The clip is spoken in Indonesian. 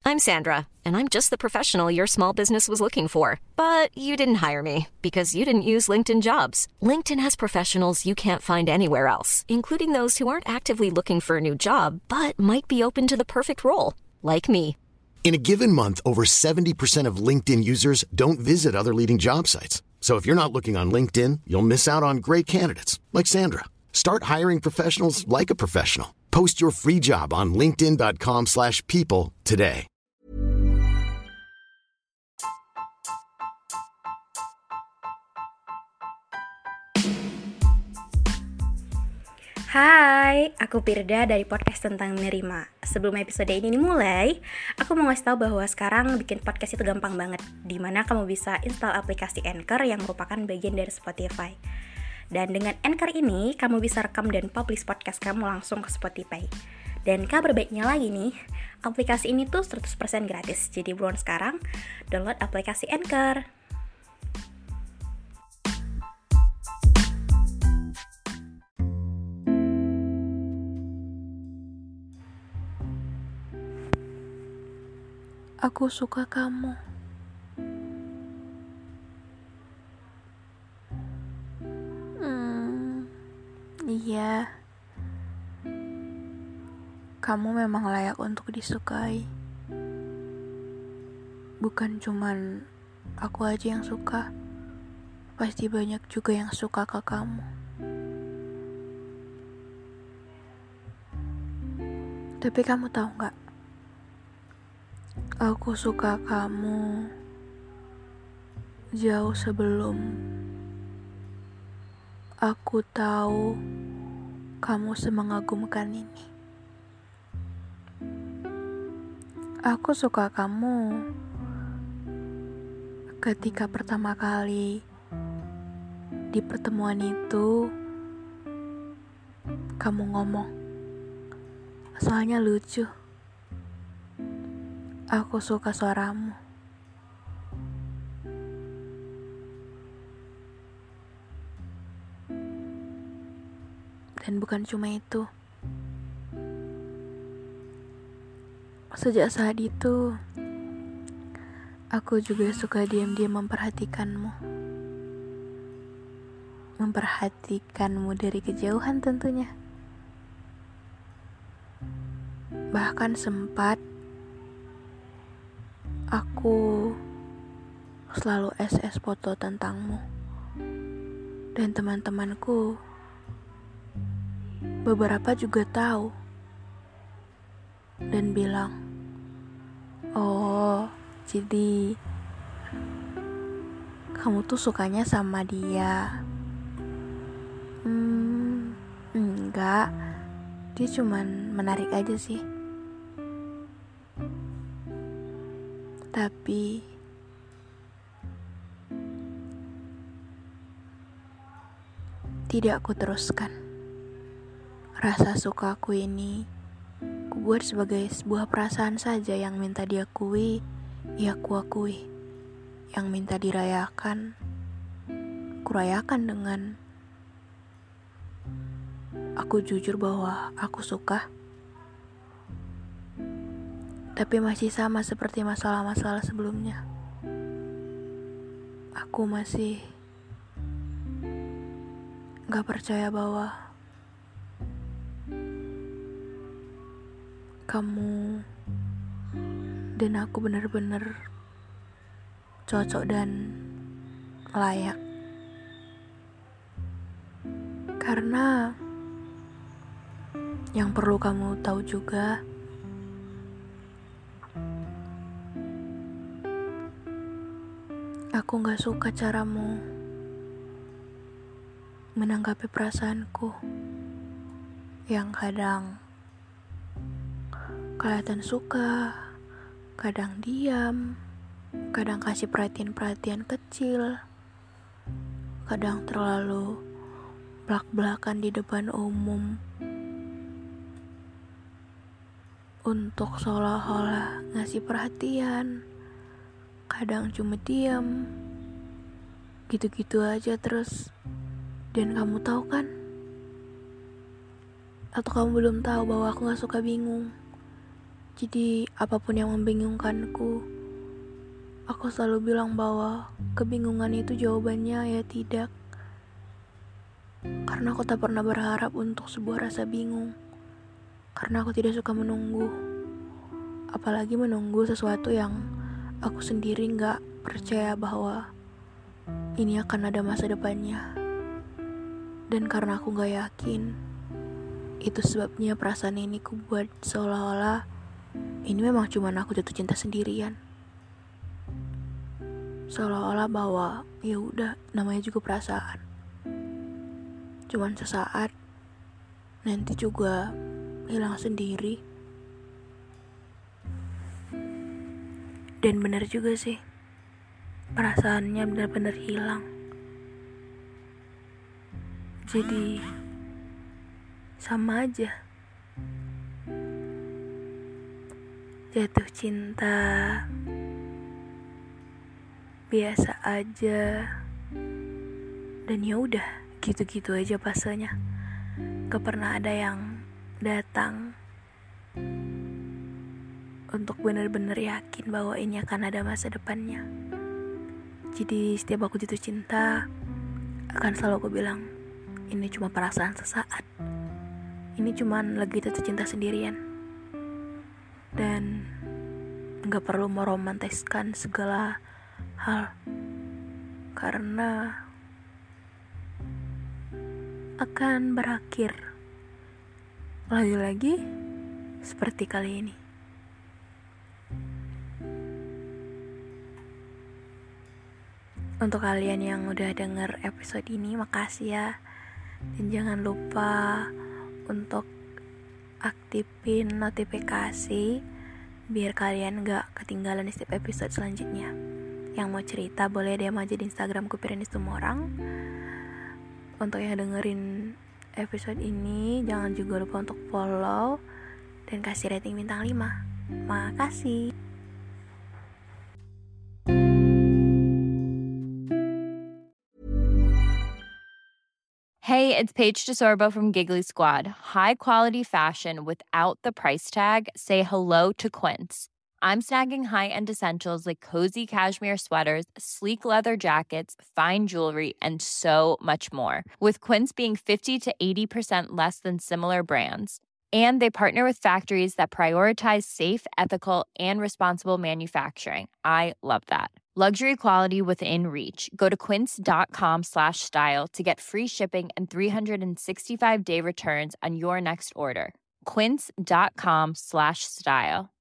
I'm Sandra, and I'm just the professional your small business was looking for. But you didn't hire me because you didn't use LinkedIn Jobs. LinkedIn has professionals you can't find anywhere else, including those who aren't actively looking for a new job, but might be open to the perfect role, like me. In a given month, over 70% of LinkedIn users don't visit other leading job sites. So if you're not looking on LinkedIn, you'll miss out on great candidates like Sandra. Start hiring professionals like a professional. Post your free job on linkedin.com/people today. Hai, aku Pirda dari podcast tentang menerima. Sebelum episode ini dimulai, aku mau ngasih tahu bahwa sekarang bikin podcast itu gampang banget, dimana kamu bisa install aplikasi Anchor yang merupakan bagian dari Spotify. Dan dengan Anchor ini, kamu bisa rekam dan publish podcast kamu langsung ke Spotify. Dan kabar baiknya lagi nih, aplikasi ini tuh 100% gratis. Jadi buruan sekarang, download aplikasi Anchor. Aku suka kamu. Iya. Kamu memang layak untuk disukai. Bukan cuman aku aja yang suka. Pasti banyak juga yang suka ke kamu. Tapi kamu tahu gak? Aku suka kamu jauh sebelum aku tahu kamu semengagumkan ini. Aku suka kamu ketika pertama kali di pertemuan itu kamu ngomong, soalnya lucu. Aku suka suaramu. Dan bukan cuma itu. Sejak saat itu, aku juga suka diam-diam memperhatikanmu. Memperhatikanmu dari kejauhan tentunya. Bahkan sempat aku selalu SS foto tentangmu. Dan teman-temanku beberapa juga tahu dan bilang, "Oh, jadi kamu tuh sukanya sama dia." Enggak, dia cuman menarik aja sih. Tapi tidak aku teruskan. Rasa sukaku ini kubuat sebagai sebuah perasaan saja yang minta diakui, ya kuakui. Yang minta dirayakan, kurayakan dengan aku jujur bahwa aku suka. Tapi masih sama seperti masalah-masalah sebelumnya. Aku masih gak percaya bahwa kamu dan aku benar-benar cocok dan layak. Karena yang perlu kamu tahu juga, aku gak suka caramu menanggapi perasaanku yang kadang kelihatan suka, kadang diam, kadang kasih perhatian-perhatian kecil, kadang terlalu belak-belakan di depan umum untuk seolah-olah ngasih perhatian, kadang cuma diam, gitu-gitu aja terus. Dan kamu tahu kan? Atau kamu belum tahu bahwa aku gak suka bingung? Jadi apapun yang membingungkanku, aku selalu bilang bahwa kebingungan itu jawabannya ya tidak. Karena aku tak pernah berharap untuk sebuah rasa bingung. Karena aku tidak suka menunggu. Apalagi menunggu sesuatu yang aku sendiri gak percaya bahwa ini akan ada masa depannya. Dan karena aku gak yakin, itu sebabnya perasaan ini ku buat seolah-olah ini memang cuma aku jatuh cinta sendirian. Seolah-olah bahwa ya udah, namanya juga perasaan. Cuman sesaat, nanti juga hilang sendiri. Dan benar juga sih, perasaannya benar-benar hilang. Jadi sama aja. Jatuh cinta biasa aja. Dan ya udah, gitu-gitu aja fasenya. Gak pernah ada yang datang untuk benar-benar yakin bahwa ini akan ada masa depannya. Jadi setiap aku jatuh cinta, akan selalu aku bilang, ini cuma perasaan sesaat. Ini cuma lagi jatuh cinta sendirian. Dan gak perlu meromantiskan segala hal, karena akan berakhir lagi-lagi seperti kali ini. Untuk kalian yang udah denger episode ini, makasih ya. Dan jangan lupa untuk aktifin notifikasi biar kalian gak ketinggalan di setiap episode selanjutnya. Yang mau cerita boleh DM aja di Instagramku Pirinis Tumorang. Untuk yang dengerin episode ini, jangan juga lupa untuk follow dan kasih rating bintang 5. Makasih. Hey, it's Paige DeSorbo from Giggly Squad. High quality fashion without the price tag. Say hello to Quince. I'm snagging high-end essentials like cozy cashmere sweaters, sleek leather jackets, fine jewelry, and so much more. With Quince being 50 to 80% less than similar brands. And they partner with factories that prioritize safe, ethical, and responsible manufacturing. I love that. Luxury quality within reach. Go to quince.com/style to get free shipping and 365-day returns on your next order. Quince.com/style.